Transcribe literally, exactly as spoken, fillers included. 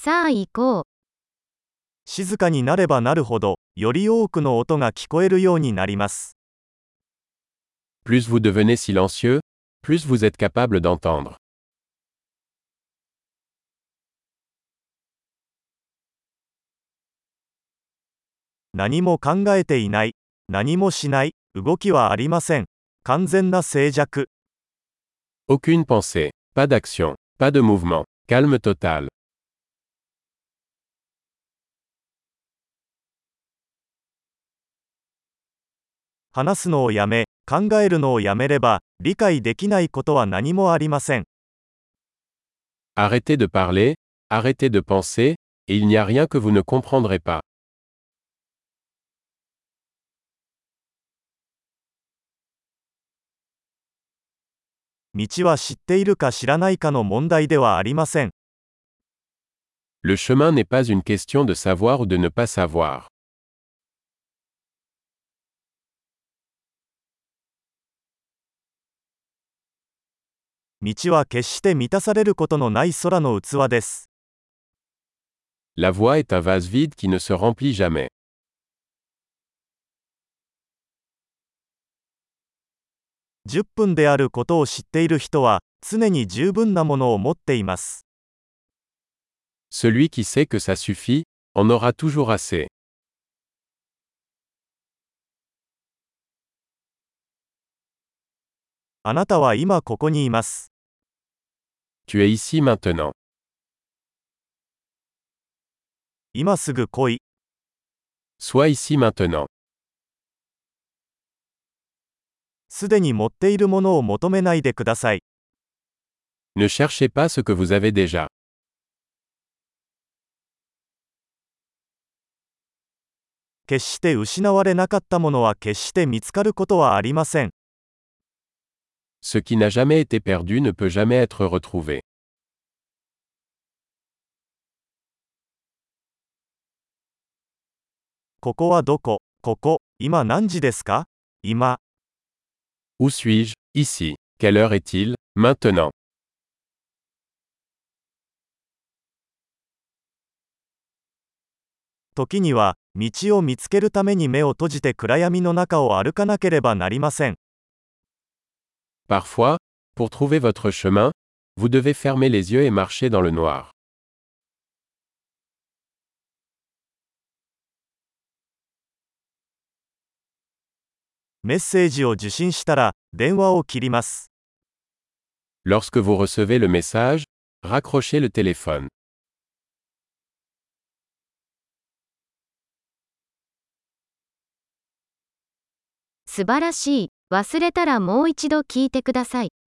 さあ行こう。 静かになればなるほど、より多くの音が聞こえるようになります。 Plus vous devenez silencieux, plus vous êtes capable d'entendre. 何も考えていない。何もしない。動きはありません。完全な静寂。 Aucune pensée, pas d'action, pas de mouvement, calme total. 話すのをやめ、考えるのをやめれば、理解できないことは何もありません。 Arrêtez de parler, arrêtez de penser, et il n'y a rien que vous ne comprendrez pas. 道は知っているか知らないかの問題ではありません。 Le chemin n'est pas une question de savoir ou de ne pas savoir. 道は決して満たされることのない空の器です。 La voie est un vase vide qui ne se remplit jamais. じゅっぷんであることを知っている人は、常に十分なものを持っています。 Celui qui sait que ça suffit, en aura toujours assez. あなたは今ここにいます。 Tu es ici maintenant. 今すぐ来い。 Sois ici maintenant. すでに持っているものを求めないでください。 Ne cherchez pas ce que vous avez déjà. 決して失われなかったものは決して見つかることはありません。 Ce qui n'a jamais été perdu ne peut jamais être retrouvé. ここはどこ？ここ、今何時ですか？今。 Où suis-je? Ici. Quelle heure est-il? Maintenant. 時には、道を見つけるために目を閉じて暗闇の中を歩かなければなりません。 Parfois, pour trouver votre chemin, vous devez fermer les yeux et marcher dans le noir. メッセージを受信したら、電話を切ります。 Lorsque vous recevez le message, raccrochez le téléphone. 素晴らしい。忘れたらもう一度聞いてください。